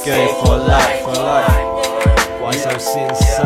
Skate for life, for life. 怪兽先生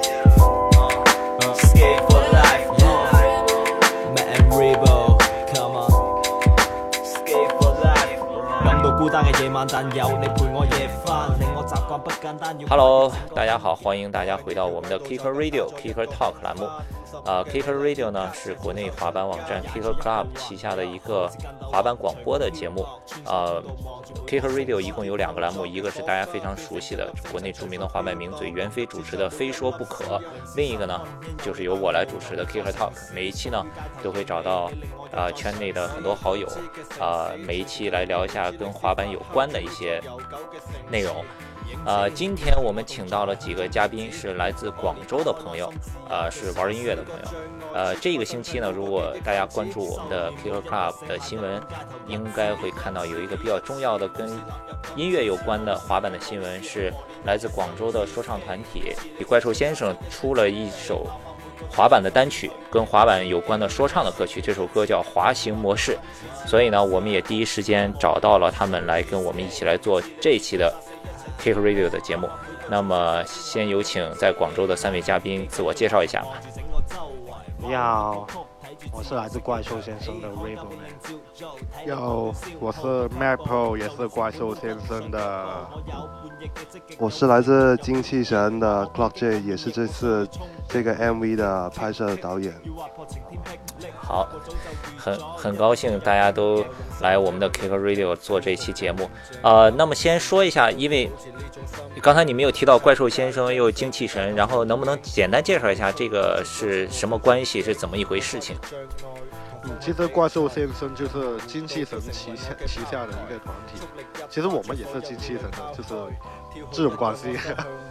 Skate for life, Matt and Rebo, come on. Skate for life. 感到孤單嘅夜晚，但有你陪我夜返，令我習慣不簡單。 Hello， 大家好，歡迎大家回到我們的 Kicker Radio、Kicker Talk 欄目。Kicker Radio 呢是國內滑板網站 Kicker Club 旗下的一個滑板廣播的節目。Kicker Radio 一共有兩個欄目，一個是大家非常熟悉的國內著名的滑板名嘴袁飛主持的《非說不可》，另一個呢就是由我來主持的 Kicker Talk。每一期呢都會找到圈內的很多好友，每一期來聊一下跟滑板有關的一些內容。今天我們請到了幾個嘉賓，是來自廣州的朋友，是玩音樂的朋友。這個星期呢，如果大家關注我們的 Kicker Club 的新聞，應該會看到有一個比較重要的跟音樂有關的滑板的新聞，是來自廣州的說唱團體怪獸先生出了一首滑板的單曲，跟滑板有關的說唱的歌曲，這首歌叫《滑行模式》。所以呢，我們也第一時間找到了他們來跟我們一起來做這一期的Kicker Radio 的節目。那麼先有請在廣州的三位嘉賓自我介紹一下吧。 你好，我是來自怪獸先生的 Rebo。你好，我是 Maple， 也是怪獸先生的。 我是來自精氣神的 Clock J， 也是這次這個 MV 的拍攝導演。 好，很高興大家都來我們的 Kicker Radio 做這期節目。那麼先說一下，因為剛才你們有提到怪獸先生又精氣神，然後能不能簡單介紹一下這個是什麼關係，是怎麼一回事情？ 其實怪獸先生就是精氣神旗下的一個團體，其實我們也是精氣神的，就是這種關係。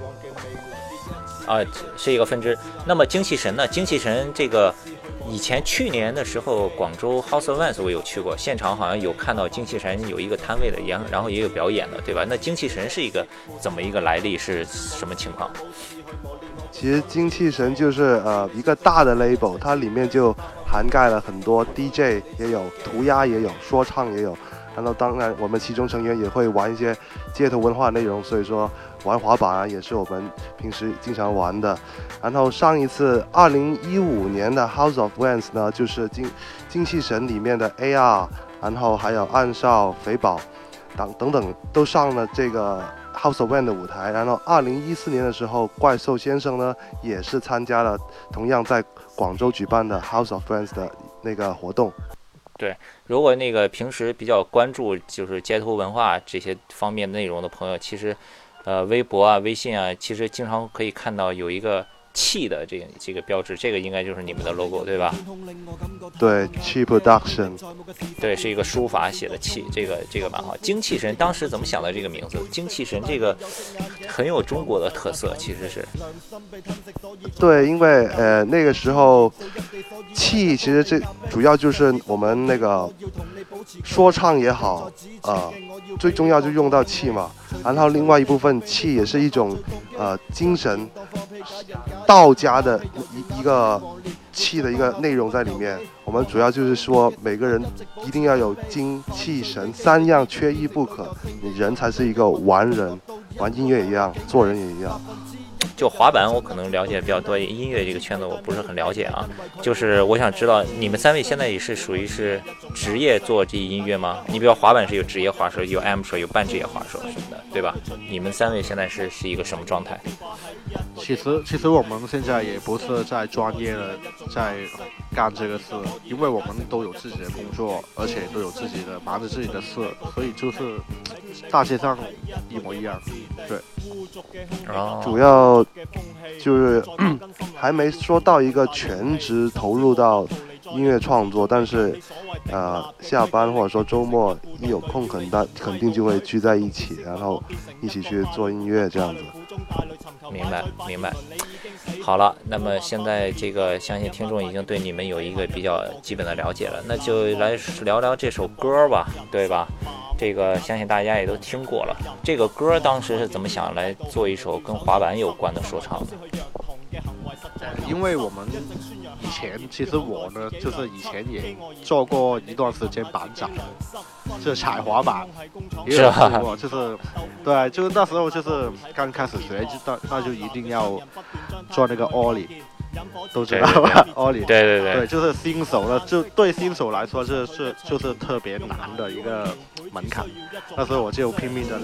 是一個分支。那麼精氣神呢？精氣神這個以前去年的時候，廣州 House of Vans 我有去過，現場好像有看到精氣神有一個攤位的，然後也有表演的，對吧？那精氣神是一個怎麼一個來歷，是什麼情況？ 其實精氣神就是一個大的 label， 它裡面就涵蓋了很多 DJ 也有，塗鴉也有，說唱也有，然後當然我們其中成員也會玩一些街頭文化內容，所以說玩滑板也是我們平時經常玩的。然後上一次2015年的 House of Vans 呢，就是精氣神裡面的 AR， 然後還有暗少、肥寶等等都上了這個House of Vans 的舞台。然後2014年的時候，怪獸先生呢也是參加了同樣在廣州舉辦的 House of Vans 的那個活動。 對，如果那個平時比較關注就是街頭文化這些方面內容的朋友，其實微博啊、微信啊，其實經常可以看到有一個氣的這個標誌，這個應該就是你們的 logo 對吧？ 對，氣 production， 對，是一個書法寫的氣，這個蠻好。精氣神當時怎麼想的這個名字？精氣神這個很有中國的特色，其實是。 對，因為那個時候氣其實這主要就是我們那個說唱也好，最重要就用到氣嘛。然後另外一部分氣也是一種精神，道家的一個氣的一個內容在裡面。我們主要就是說每個人一定要有精氣神三樣缺一不可，你人才是一個完人，玩音樂一樣，做人也一樣。 就滑板我可能了解比較多，音樂這個圈子我不是很了解啊。就是我想知道你們三位現在也是屬於是職業做這音樂嗎？你比如滑板是有職業滑手，有 amateur， 有半職業滑手什麼的，對吧？你們三位現在是一個什麼狀態？ 其實我們現在也不是在專業的在幹這個事，因為我們都有自己的工作，而且都有自己的忙着自己的事，所以就是大街上一模一樣。對， 主要就是還沒說到一個全職投入到音樂創作，但是下班或者說周末一有空肯定就會聚在一起，然後一起去做音樂這樣子。 明白。好了，那麼現在這個相信聽眾已經對你們有一個比較基本的了解了，那就來聊聊這首歌吧，對吧？這個相信大家也都聽過了。這個歌當時是怎麼想來做一首跟滑板有關的說唱的？ 因為我們以前其实我呢，就是以前也做过一段时间板长，就是踩滑板，也有做过，就是对，就是那时候就是刚开始学，那就一定要做那个 ollie。都知道吧？Ollie，对，就是新手的，就对新手来说就是特别难的一个门槛。那时候我就拼命的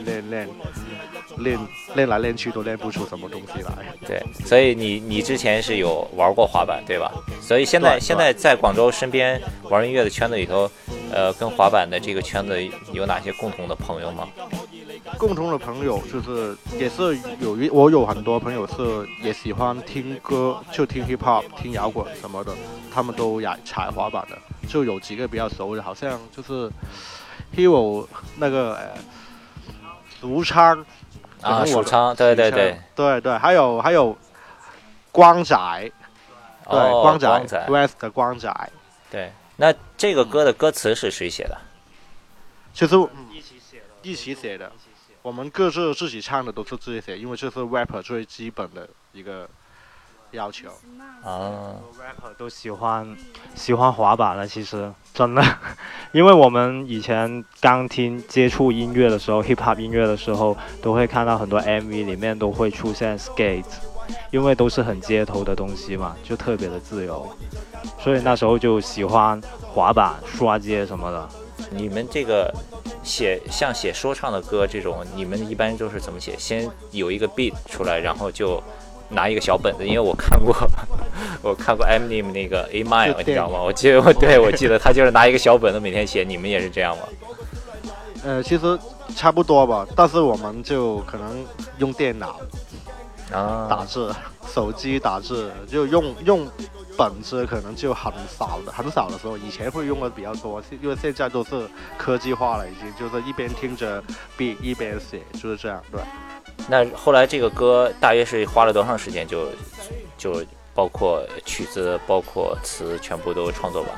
练来练去都练不出什么东西来。 对，所以你之前是有玩过滑板对吧？所以现在在广州身边玩音乐的圈子里头，跟滑板的这个圈子有哪些共同的朋友吗？ 共同的朋友就是也是我有很多朋友是也喜欢听歌，就听 hip hop 听摇滚什么的，他们都踩滑板的，就有几个比较熟的，好像就是 Hero 那个俗昌啊，俗昌，对， 还有光仔，对，光仔 West 的光仔， 对，那这个歌的歌词是谁写的？ 其实一起写的。我们各自自己唱的都是自己写，因为这是 rapper 最基本的一个要求。 rapper 都喜欢滑板了，其实真的，因为我们以前刚接触音乐的时候 ，hip hop 音乐的时候，都会看到很多 MV 里面都会出现 skate， 因为都是很街头的东西嘛，就特别的自由，所以那时候就喜欢滑板、刷街什么的。 你们这个写说唱的歌这种，你们一般都是怎么写？先有一个 beat 出来，然后就拿一个小本子，因为我看过Eminem 那个 A Mile， 你知道吗？我记得他就是拿一个小本子每天写。你们也是这样吗？ 其实差不多吧，但是我们就可能用电脑打字，手机打字，就用本子可能就很少的时候，以前会用的比较多，因为现在都是科技化了，已经就是一边听着 beat 一边写，就是这样。对。 那后来这个歌大约是花了多长时间就包括曲子包括词全部都创作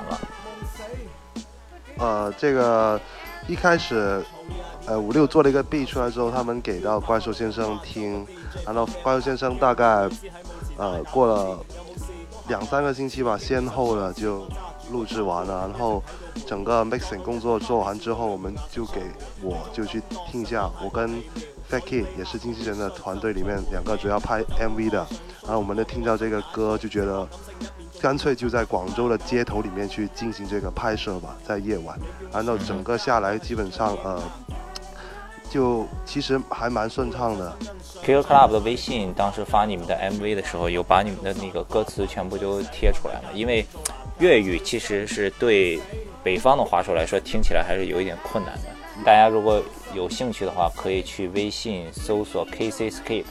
完了？这个一开始56做了一个 beat 出来之后，他们给到怪兽先生听，然后怪兽先生大概过了2-3个星期吧，先后的就录制完了，然后整个 mixing 工作做完之后，我就去听一下，我跟 Fat Kid 也是经纪人的团队里面2个主要拍 MV 的，然后我们就听到这个歌就觉得干脆就在广州的街头里面去进行这个拍摄吧，在夜晚，然后整个下来基本上就其实还蛮顺畅的。 Killer Club 的微信当时发你们的 MV 的时候，有把你们的那个歌词全部都贴出来了，因为粤语其实是对北方的华手来说听起来还是有一点困难的。大家如果有兴趣的话，可以去微信搜索 KCSKATE，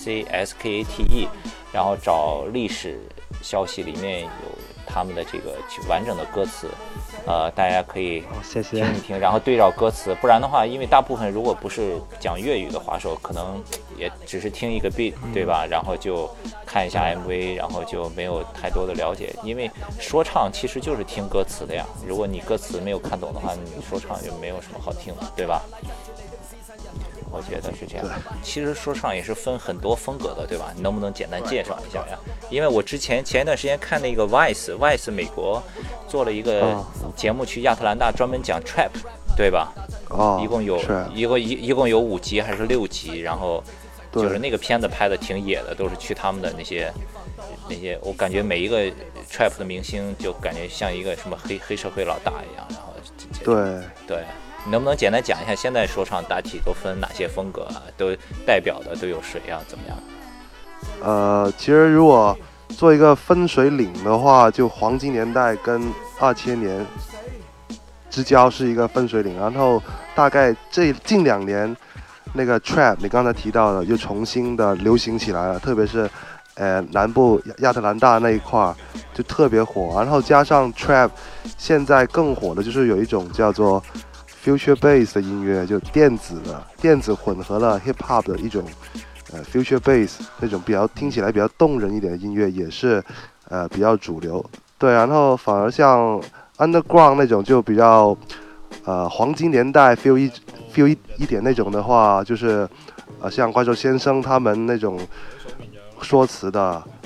然后找历史消息，里面有他们的这个完整的歌词，大家可以听一听，然后对照歌词。不然的话，因为大部分如果不是讲粤语的华手，可能也只是听一个 beat， 对吧？然后就看一下 MV， 然后就没有太多的了解。因为说唱其实就是听歌词的呀，如果你歌词没有看懂的话，你说唱就没有什么好听的，对吧？我觉得是这样。其实说唱也是分很多风格的，对吧？你能不能简单介绍一下呀？因为我前一段时间看那个 Vice 美国做了一个节目，去亚特兰大专门讲 Trap， 对吧？一共有5集还是6集，然后就是那个片子拍的挺野的，都是去他们的那些，我感觉每一个 Trap 的明星就感觉像一个什么黑社会老大一样，然后对。你能不能简单讲一下现在说唱大体都分哪些风格啊？都代表的都有谁啊？怎么样？ 其实如果做一个分水岭的话，就黄金年代跟2000年之交是一个分水岭，然后大概这近2年那个 Trap 你刚才提到的又重新的流行起来了，特别是南部亚特兰大那一块就特别火，然后加上 Trap 现在更火的就是有一种叫做Future Bass 的音乐，就电子混合了 Hip Hop 的一种Future Bass 那种听起来比较动人一点的音乐，也是比较主流。对，然后反而像 Underground 那种就比较黄金年代 feel 一点那种的话，就是像怪兽先生他们那种说词的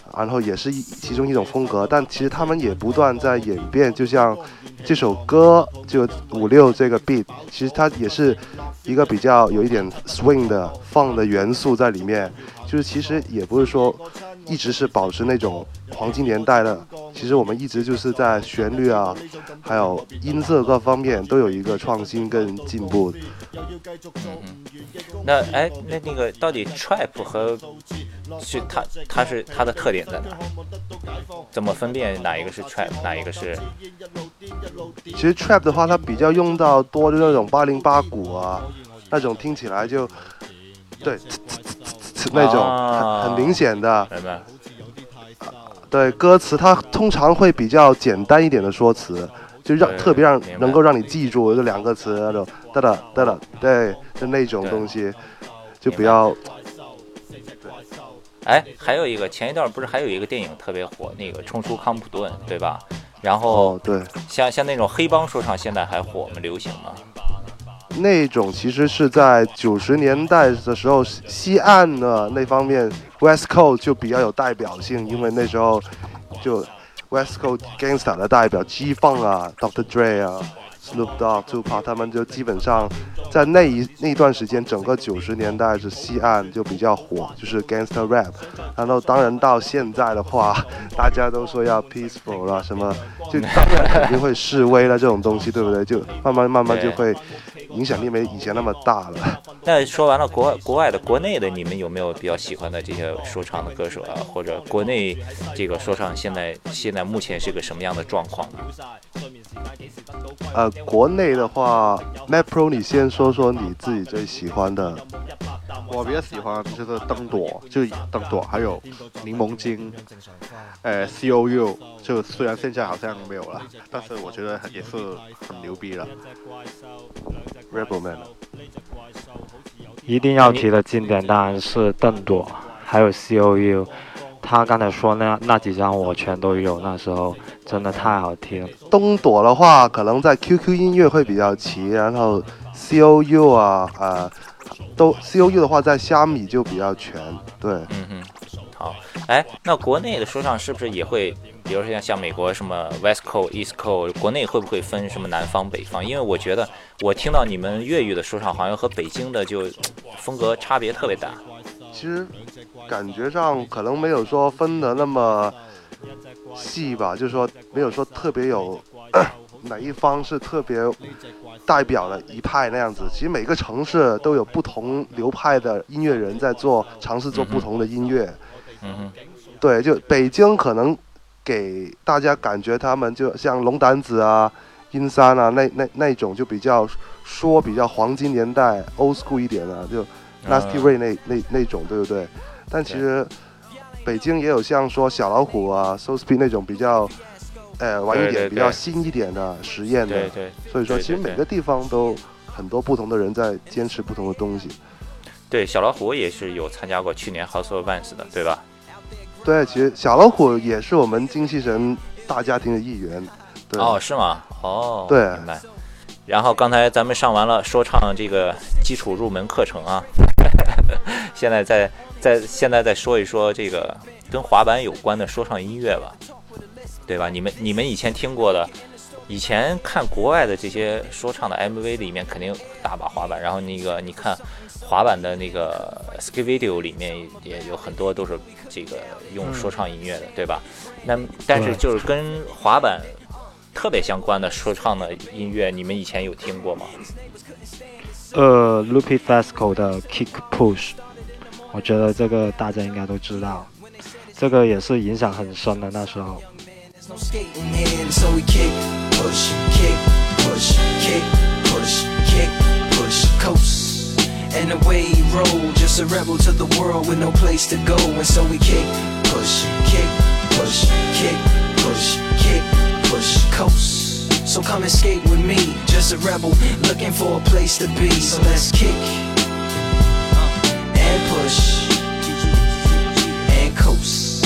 然后也是其中一种风格，但其实他们也不断在演变。就像这首歌就56这个 beat， 其实它也是一个比较有一点 swing 的放的元素在里面，就是其实也不是说一直是保持那种黄金年代的，其实我们一直就是在旋律啊，还有音色各方面都有一个创新跟进步。 那个到底 trap 和是它的特点在哪？怎么分辨哪一个是 trap， 哪一个是？ 其实 trap 的话，它比较用到多的那种808鼓啊，那种听起来就对那种很明显的。 明白。 对，歌词它通常会比较简单一点的说辞，就特别能够让你记住这2个词那种哒哒哒哒，对，就那种东西，就比较。 还有一个前一段不是还有一个电影特别火，那个《冲出康普顿》，对吧？然后对， 像那种黑帮说唱，现在还火吗？流行吗？ 那种其实是在90年代的时候，西岸的那方面 West Coast 就比较有代表性，因为那时候就 West Coast Gangsta 的代表 G-Funk 啊 Dr. Dre 啊 Snoop Dogg、Tupac 他们就基本上在那段时间，整个90年代是西岸就比较火，就是 Gangsta Rap。然后当然到现在的话，大家都说要 peaceful 啦，什么就当然肯定会示威了这种东西，对不对？就慢慢就会影响力没以前那么大了。 那说完了国外的，国内的你们有没有比较喜欢的这些说唱的歌手啊？或者国内这个说唱现在目前是个什么样的状况呢？ 国内的话 Matt Pro 你先说说你自己最喜欢的。 我比较喜欢就是灯朵，还有柠檬精，COU 就虽然现在好像没有了，但是我觉得也是很牛逼了。 Rebel Man 一定要提的经典当然是邓朵，还有 COU。他刚才说那几张我全都有，那时候真的太好听。 东朵的话，可能在 QQ 音乐会比较齐，然后 COU 都 COU 的话在虾米就比较全，对。 好，那国内的说唱是不是也会，比如说像美国什么 West Coast、East Coast， 国内会不会分什么南方、北方？因为我觉得我听到你们粤语的说唱好像和北京的就风格差别特别大。 其实感觉上可能没有说分的那么细吧，就是说没有说特别有哪一方是特别代表的一派那样子。其实每个城市都有不同流派的音乐人在尝试做不同的音乐。对，就北京可能给大家感觉他们就像龙胆子啊、阴山啊那种就比较黄金年代 old school 一点的，就 Nasty Ray 那种，对不对？但其实北京也有像说小老虎啊、So Speed 那种比较晚一点、比较新一点的实验的。 对。 所以说，其实每个地方都很多不同的人在坚持不同的东西。对， 小老虎也是有参加过去年 House of Vans 的，对吧？ 对，其实小老虎也是我们精气神大家庭的一员。对。 哦，是吗？哦， 对， 明白。然后刚才咱们上完了说唱这个基础入门课程啊，现在再说一说这个跟滑板有关的说唱音乐吧，对吧？你们以前听过的，以前看国外的这些说唱的 MV 里面肯定大把滑板，然后那个你看滑板的那个 skate video 里面也有很多都是这个用说唱音乐的，对吧？但是就是跟滑板特别相关的说唱的音乐，你们以前有听过吗 ？Lupe Fiasco 的 Kick Push， 我觉得这个大家应该都知道，这个也是影响很深的那时候。 And the way he rolled, just a rebel to the world with no place to go. And so we kick, push, kick, push, kick, push, kick, push, coast. So come and skate with me, just a rebel looking for a place to be. So let's kick and push and coast.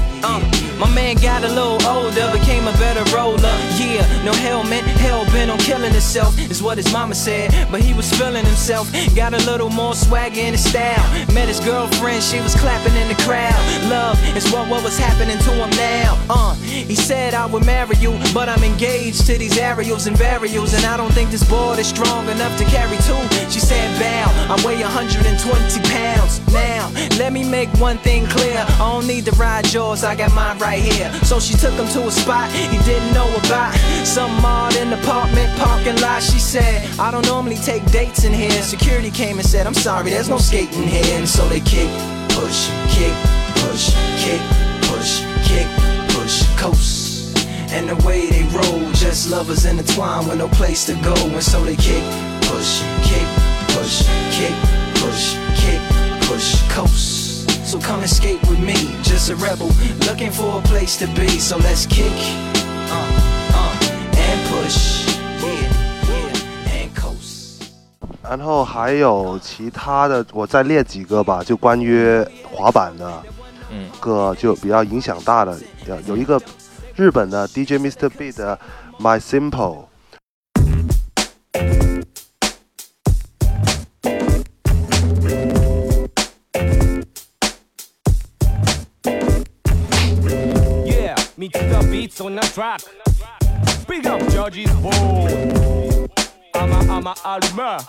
My man got a little older, became a better roller. Yeah, no helmet, hell bent on killing killing himself, is what his mama said. But he was feeling himself, got a little more swagger in his style. Met his girlfriend, she was clapping in the crowd. Love is what was happening to him now. He said I would marry you, but I'm engaged to these aerials and varials, and I don't think this board is strong enough to carry two. She said bow, I weigh 120 pounds. Now, let me make one thing clear, I don't need to ride yours, I got mine right here. So she took him to a spot he didn't know about, some odd in the apartment parking lot. She said, I don't normally take dates in here. Security came and said, I'm sorry, there's no skating here. And so they kick, push, kick, push, kick, push, kick, push, coast. And the way they roll, just lovers intertwined with no place to go. And so they kick, push, kick, push, kick, push, kick, push, coast. So come and skate with me, just a rebel, looking for a place to be. So let's kick, and push, yeah, and coast. 然后还有其他的，我再列几个吧，就关于滑板的，个就比较影响大的，有一个日本的 DJ Mr. B 的 My Simple。 Meet the beats on the track. Big up Georgie's boy. I'm a Alma.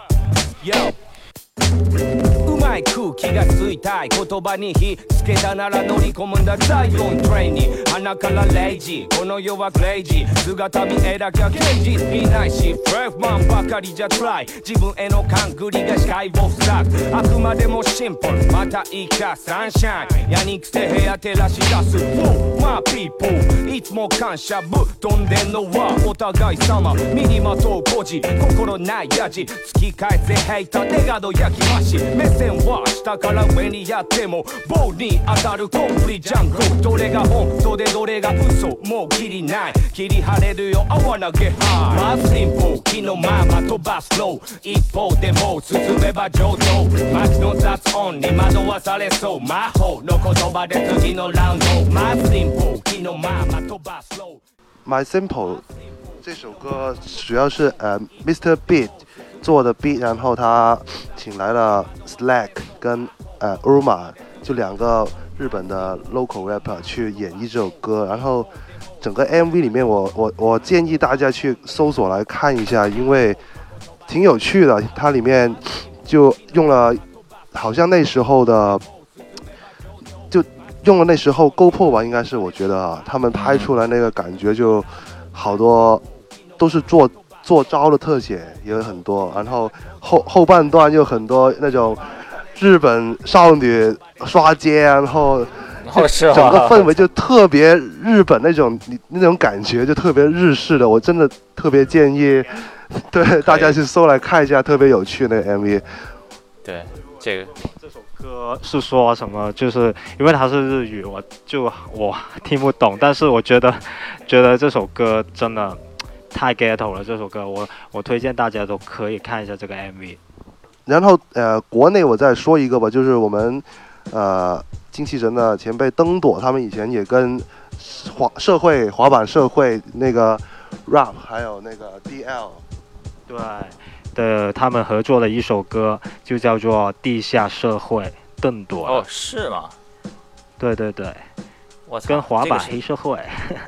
Yo. うまい空気がついたい言葉に火つけたなら乗り込むんだザイオントレインに鼻からレイジこの世はクレイジー姿見えなきゃケージいないしフレーフマンばかりじゃトライ自分への勘繰りが視界を塞ぐあくまでもシンプルまたいいかサンシャインやにくせ部屋照らし出す My people いつも感謝ぶっ飛んでんのはお互い様身にまとう孤児心ないやじ突き返せヘイターネガド焼き増し目線は下から上にやっても棒に当たるコンプリジャングルどれが本当でどれが嘘もうキリない切り晴れるよ I wanna get high まあシンプル気のまま飛ばすロー一方でも進めば上等街の雑音に惑わされそう魔法の言葉で次のラウンドまあシンプル気のまま飛ばすロー My Simple 这首歌主要是Mr. Beat 做的 beat， 然后他请来了 Slack 跟Urma 就两个日本的 local rapper 去演绎这首歌，然后整个 MV 里面我建议大家去搜索来看一下，因为挺有趣的，它里面就用了好像那时候的就用了那时候 GoPro 吧，应该是我觉得他们拍出来那个感觉就好多都是做招的特写也有很多，然后后半段又很多那种日本少女刷街，然后整个氛围就特别日本那种感觉，就特别日式的。我真的特别建议，对大家去搜来看一下，特别有趣那个 MV。 对，这首歌是说什么？就是因为它是日语，我听不懂，但是我觉得这首歌真的太 ghetto 了，这首歌我推荐大家都可以看一下这个 MV。 然后国内我再说一个吧，就是我们精气神的前辈登朵，他们以前也跟滑板社会那个 rap 还有那个 DL 对他们合作的一首歌就叫做《地下社会》，登朵。 哦，是吗？ 对，跟滑板黑社会。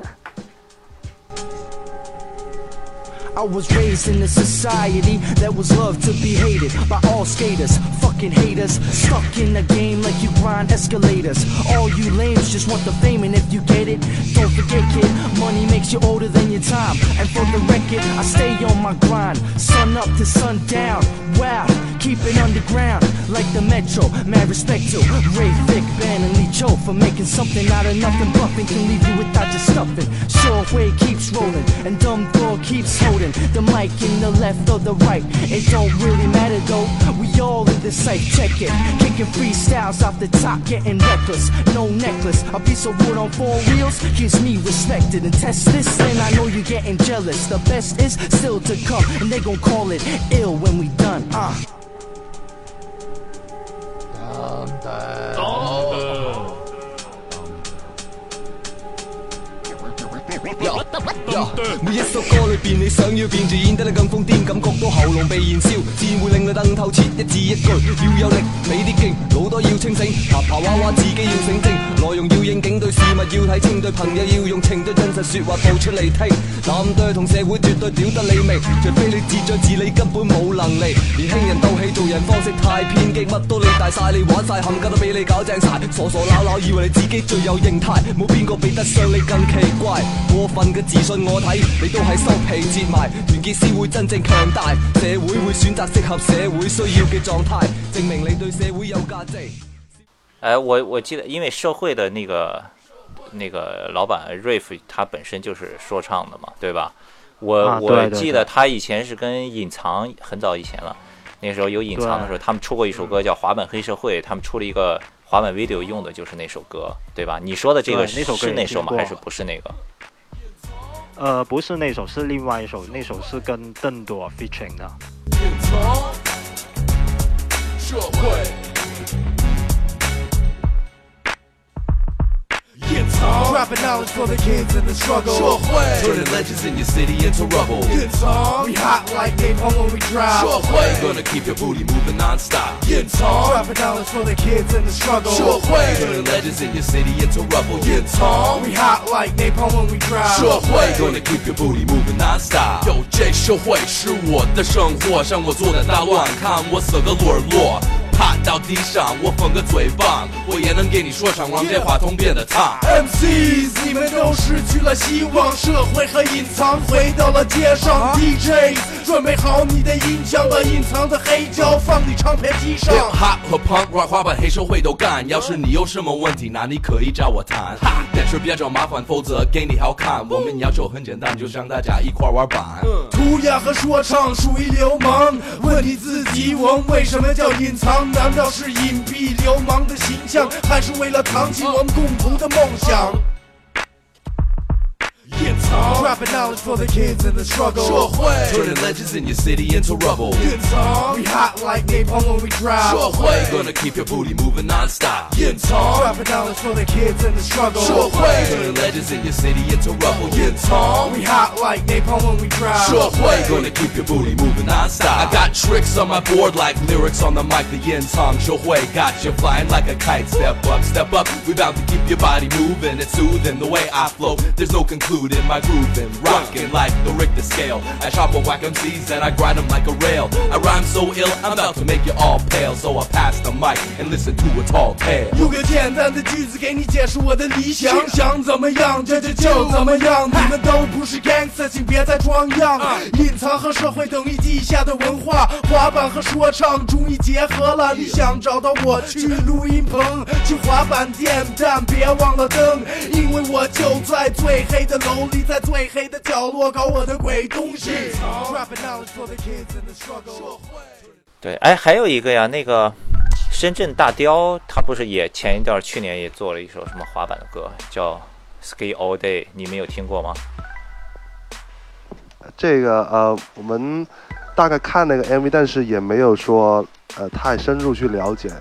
I was raised in a society that was loved to be hated by all skaters, fucking haters. Stuck in the game like you grind escalators. All you lames just want the fame, and if you get it, don't forget, kid, money makes you older than your time. And for the record, I stay on my grind, sun up to sundown. Wow, keep it underground like the Metro. Mad respect to Ray, Vic, Ben, and Lee Cho for making something out of nothing. Bluffing can leave you without your stuffing. Short way keeps rolling, and dumb door keeps holding the mic in the left or the right. It don't really matter though, we all in this sight. Check it, kicking freestyles off the top, getting reckless. No necklace, a piece of wood on 4 wheels gives me respected. And test this, and I know you're getting jealous. The best is still to come, and they gon' call it ill when we done. 위에서 골을 變，你想要變就演得你更瘋癲，感覺到喉嚨被燃燒，自然會令你瞪透徹，一字一句要有力，你啲勁，腦袋要清醒，爬爬娃娃自己要醒精，內容要應景，對事物要睇清，對朋友要用情，對真實說話道出嚟聽。男對同社會絕對屌得你明，除非你自作自理根本冇能力。年輕人鬥氣做人方式太偏激，乜都你大晒，你玩晒，冚家都俾你搞正晒，傻傻鬧鬧以為你自己最有形態，冇邊個比得上你更奇怪。過分嘅自信我睇你都係收皮折埋，團結先會真正強大，社會會選擇適合社會需要嘅狀態，證明你對社會有價值。 我記得，因為社會的那個老闆 Riff 他本身就是說唱的嘛，對吧？我記得他以前是跟隱藏很早以前了，那時候有隱藏的時候，他們出過一首歌叫《滑板黑社會》，他們出了一個滑板 video 用的就是那首歌，對吧？你說的這個是那首嗎？還是不是那個？ 不是那首，是另外一首，那首是跟鄧朵 featuring 的。 社會 Dropping knowledge for the kids in the struggle. Turning legends in your city into rubble. We hot like napalm when we drop. Gonna keep your booty moving non-stop. Dropping knowledge for the kids in the struggle. Turning legends in your city into rubble. We hot like napalm when we drop. Gonna keep your booty moving non-stop. 有这社会是我的生活，让我做的大乱，看我色个沦落。趴到地上，我缝个嘴棒，我也能给你说唱，让这话筒变得烫。 MCs， 你们都失去了希望，社会和隐藏回到了街上。DJs， 准备好你的音箱，把隐藏的黑胶放你唱片机上。 Hip-hop 和 Punk、Rock、滑板、黑社会都干。要是你有什么问题，那你可以找我谈。但是别找麻烦，否则给你好看。我们要求很简单，就是让大家一块玩板。 涂鸦和说唱属于流氓，问你自己，我们为什么叫隐藏？难道是隐蔽流氓的形象，还是为了扛起我们共同的梦想？Dropping knowledge for the kids in the struggle. Turning legends in your city into rubble. We hot like napalm when we drop. Gonna keep your booty moving non-stop. Dropping knowledge for the kids in the struggle. Turning legends in your city into rubble. We hot like napalm when we drop. Gonna keep your booty moving non-stop. I got tricks on my board like lyrics on the mic. The yin tong show got you flying like a kite. Step up, step up. We bound to keep your body moving. It's soothing the way I flow. There's no concluding my grooving, rocking like the Richter scale. I chop or whack MCs and I grind them like a rail. I rhyme so ill, I'm about to make you all pale. So I pass the mic and listen to a tall tale. 有个简单的句子给你解释我的理想，想怎么样这就怎么样。你们都不是 gangster， 请别再装样。隐藏和社会等于地下的文化，滑板和说唱终于结合了。你想找到我去录音棚，去滑板店，但别忘了灯，因为我就在最黑的楼里，在最黑的角落搞我的鬼东西。 对，哎，还有一个呀，那个深圳大雕，他不是也前一段去年也做了一首什么滑板的歌，叫 Skate All Day， 你们有听过吗？ 这个我们大概看那个 MV， 但是也没有说太深入去了解。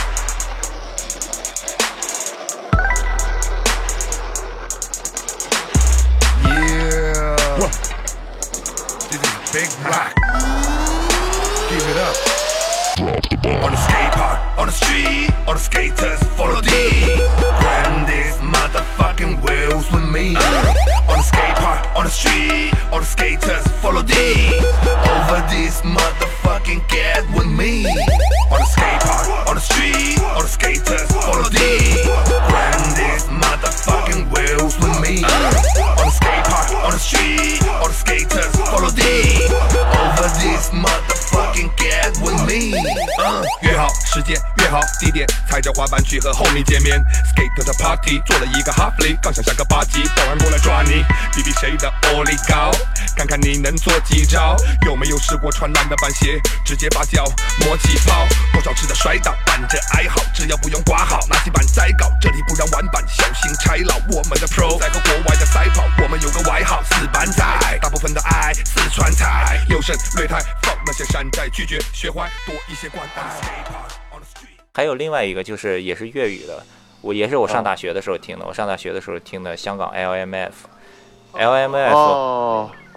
Big rock. Give it up. On the skate park, on the street, all the skaters follow D. Grab these motherfucking wheels with me. On the skate park, on the street, all the skaters follow D. Over this motherfucking get with me. On the skate park, on the street, all the skaters follow D. Grab these motherfucking wheels with me. On the skate park, on the street, all the skaters follow D. Over this motherfucking get with me. 约好时间，约好地点，踩着滑板去和 homie 见面。Skate 的 party 做了一个 half play， 刚想下个8级，保安过来抓你，比比谁的 ollie 高，看看你能做几招。有没有试过穿烂的板鞋，直接把脚磨起泡？多少次的摔倒，伴着哀嚎，只要不用挂号，拿起板再搞，这里不让玩板，小心拆老。我们的 pro 在和国外的赛跑，我们有个外号4板仔，大部分的爱四川菜，六神擂台放那些山寨，拒绝学坏多一些关爱。 还有另外一个就是也是粤语的，也是我上大学的时候听的。我上大学的时候听的香港 LMF，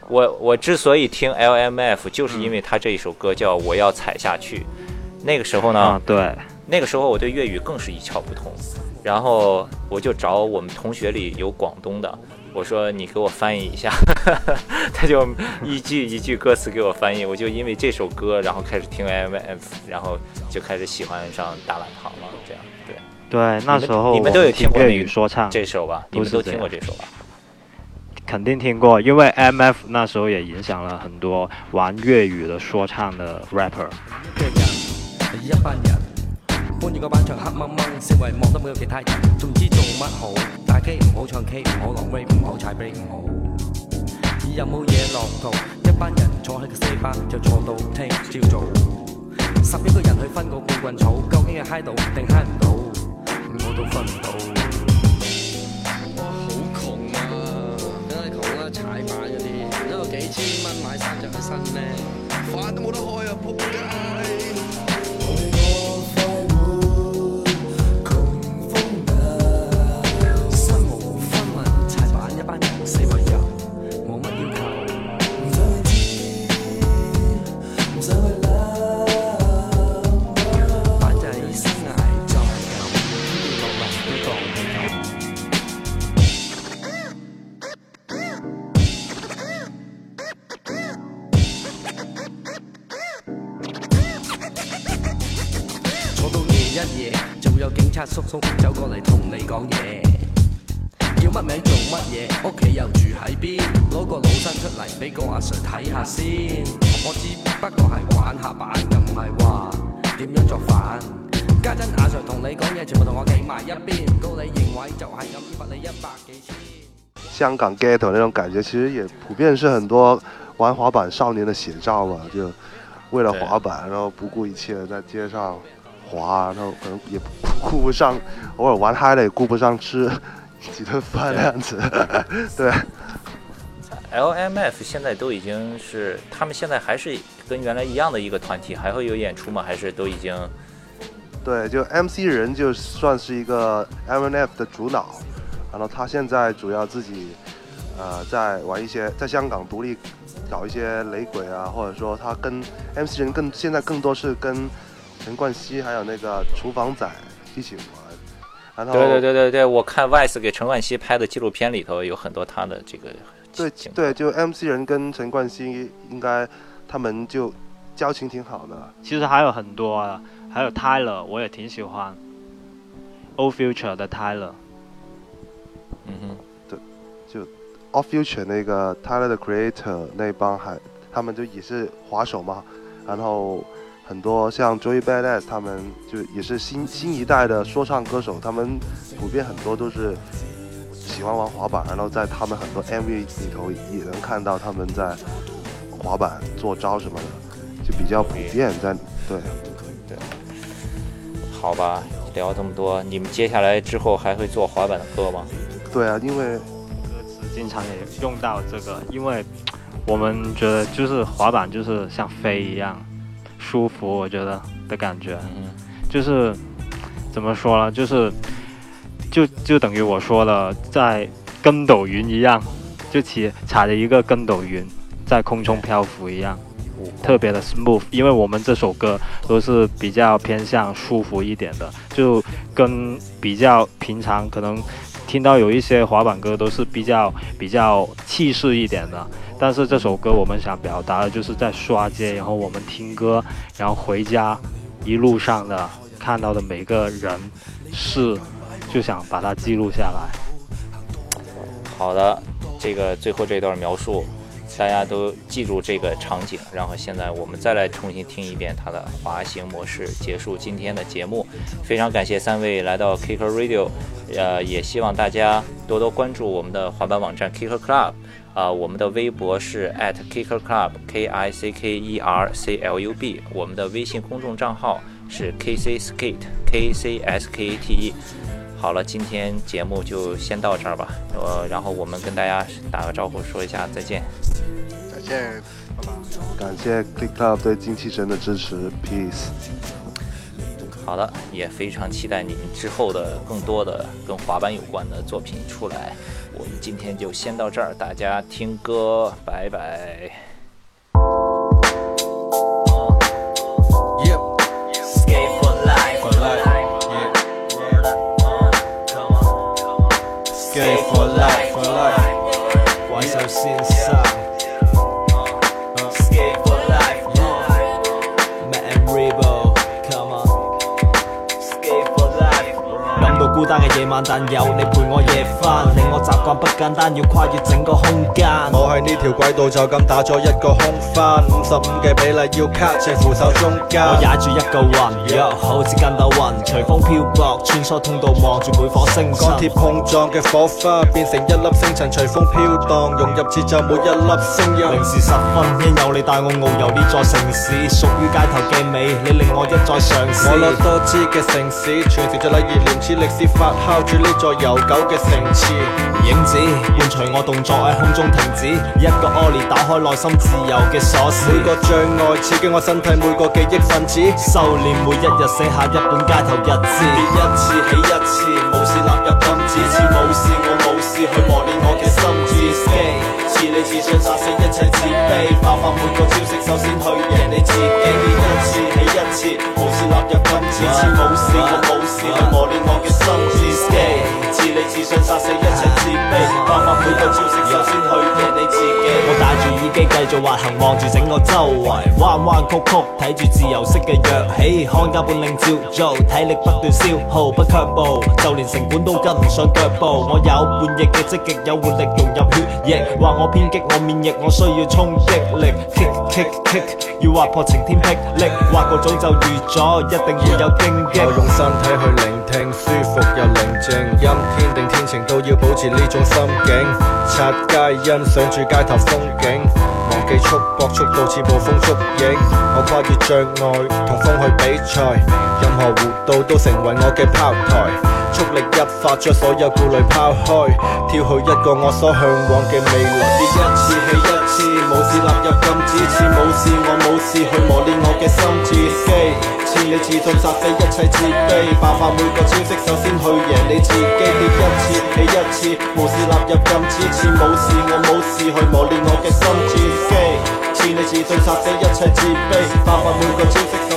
我之所以听 LMF， 就是因为他这一首歌叫《我要踩下去》。那个时候呢， 对， 那个时候我对粤语更是一窍不通，然后我就找我们同学里有广东的，我说你给我翻译一下，他就一句一句歌词给我翻译，我就因为这首歌，然后开始听 LMF， 然后就开始喜欢上大懒堂了，这样对。 对，那时候你们都有听过粤语说唱这首吧？你们都听过这首吧？ 肯定听过，因为 MF 那时候也影响了很多玩粤語的說唱的 rapper。 一班人搬住個板牆黑掹掹，四圍望都冇有其他人，仲知做乜好？打機唔好，唱 K 唔好，落 rap 唔好，踩 break 唔好。有冇嘢落圖？一班人坐喺個四巴就坐到聽朝早。11個人去分個半棍草，究竟係嗨到定嗨唔到？我都分唔到。踩板嗰啲，一個幾千蚊買衫着起身咩？飯都冇得開啊！仆街！身無分文，踩板一班人四圍遊，冇乜要求。唔想去知，唔想去諗，反正生涯就係咁，天跌落嚟都當係咁。一夜就會有警察叔叔走過嚟同你講嘢，叫乜名做乜嘢，屋企又住喺邊，攞個老身出嚟俾個阿 Sir 睇下先。我只不過係玩下板，又唔係話點樣作反。家陣阿 Sir 同你講嘢，全部同我企埋一邊，告你認為就係咁，罰你100幾千。 香港 ghetto 那種感覺，其實也普遍是很多玩滑板少年的寫照嘛，就為了滑板，然後不顧一切在街上滑，然後可能也顧不上，偶爾玩嗨了也顧不上吃幾頓飯那樣子。對。 LMF 現在都已經是，他們現在還是跟原來一樣的一個團體，還會有演出嗎？還是都已經？ 對，就 MC 人就算是一個 LMF 的主腦，然後他現在主要自己在玩一些，在香港獨立搞一些雷鬼啊，或者說他跟 MC 人現在更多是跟陳冠希還有那個廚房仔一起玩。然後對，我看 Vice 給陳冠希拍的紀錄片裡頭有很多他的這個。 對，就 MC 人跟陳冠希應該他們就交情挺好的。 其實還有很多啊，還有 Tyler 我也挺喜歡 Old Future 的 Tyler。 對，就 Old Future 那個 Tyler the Creator 那幫他們就也是滑手嘛，然後很多像 Joey Badass 他們就也是新一代的說唱歌手，他們普遍很多都是喜歡玩滑板，然後在他們很多 MV 裏頭也能看到他們在滑板做招什麼的，就比較普遍在對。 好吧，聊這麼多，你們接下來之後還會做滑板的歌嗎？ 對啊，因為歌詞經常也用到這個，因為我們覺得就是滑板就是像飛一樣舒服，我覺得的感覺，就是怎麼說呢，就是就等於我說了，在跟斗雲一樣，就踩着一個跟斗雲在空中漂浮一樣，特別的 smooth。因為我們這首歌都是比較偏向舒服一點的，就跟比較平常可能聽到有一些滑板歌都是比較氣勢一點的，但是這首歌我們想表達的就是在刷街，然後我們聽歌，然後回家一路上的看到的每個人事，就想把它記錄下來。 好的，這個最後這段描述大家都記住這個場景，然後現在我們再來重新聽一遍它的滑行模式，結束今天的節目。非常感謝3位來到 Kicker Radio，也希望大家多多關注我們的滑板網站 Kicker Club，我們的微博是 @Kicker Club KICKERCLUB， 我們的微信公眾賬號是 KCSkate KCSKATE。好了，今天節目就先到這兒吧，然後我們跟大家打個招呼，說一下再見。 再見，拜拜。 感謝 Click Club 對精氣神的支持 ，Peace。 好的，也非常期待你们之后的更多的跟滑板有关的作品出来。我们今天就先到这儿，大家听歌，拜拜。 Skate for life, for life, yeah. Skate for life, for life. 怪兽先生 Skate for life, Matt and Rebo, come on. Skate for life. 感到孤單嘅夜晚，但有你陪我夜返，令我習慣不簡單，要跨越整個空間。 我喺呢條軌道就咁打咗一個空翻，55嘅比例要卡正扶手中間。 我踩住一個雲，好似筋斗雲，隨風漂泊，穿梭通道望住每顆星辰。 鋼鐵碰撞嘅火花變成一粒星塵，隨風飄蕩，融入節奏每一粒聲音。 零時10分，因有你帶我遨遊呢座城市，屬於街頭嘅美，你令我一再嘗試。 我攞多姿嘅城市，傳承着禮儀廉恥，歷史發酵住呢座悠久嘅城池。 影子伴隨我動作喺空中停止，一個 ollie 打開內心自由嘅鎖匙。 每個障礙刺激我身體，每個記憶分子。 修煉每一日，寫下一本街頭日誌。 跌一次起一次，無視納入禁止，似冇事我冇事去磨練我嘅心智。似你自信殺死一切自卑，爆發每個招式，首先去贏你自己。跌一次起一次，無視納入禁止，似冇事我冇事去磨練我嘅心智。似你自信殺死一切自卑，爆發每個招式，首先去贏你自己。 我戴住耳機繼續滑行，望住整個周圍，彎彎曲曲，睇住自由式嘅躍起，看家本領照做，體力不斷消耗，不卻步，就連成本都跟唔上腳步。我有叛逆嘅積極，有活力融入血液，話我偏激，我免疫，我需要衝擊力 ，kick kick kick， 要劃破晴天霹靂，劃過早就預咗，一定會有荊棘。 我用身體去聆聽，舒服又寧靜，陰天定天晴都要保持呢種心境。擦街欣賞住街頭風景，忘記束縛，速度似暴風捉影。我跨越障礙，同風去比賽，任何弧度都成為我嘅拋台。速力一發，將所有顧慮拋開，跳去一個我所向往嘅未來。跌一次起一次，無視納入禁止，似冇事我冇事去磨練我嘅心智。似你自信殺死一切自卑，爆發每個招式，首先去贏你自己。跌一次起一次，無視納入禁止，似冇事我冇事去磨練我嘅心智。似你自信殺死一切自卑，爆發每個招式。